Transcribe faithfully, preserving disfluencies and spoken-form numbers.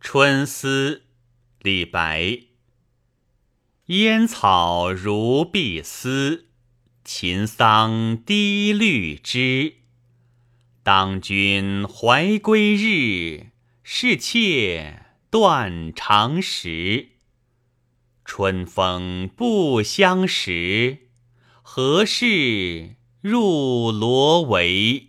春思，李白。烟草如碧丝，秦桑低绿枝。当君怀归日，是妾断肠时。春风不相识，何事入罗帷。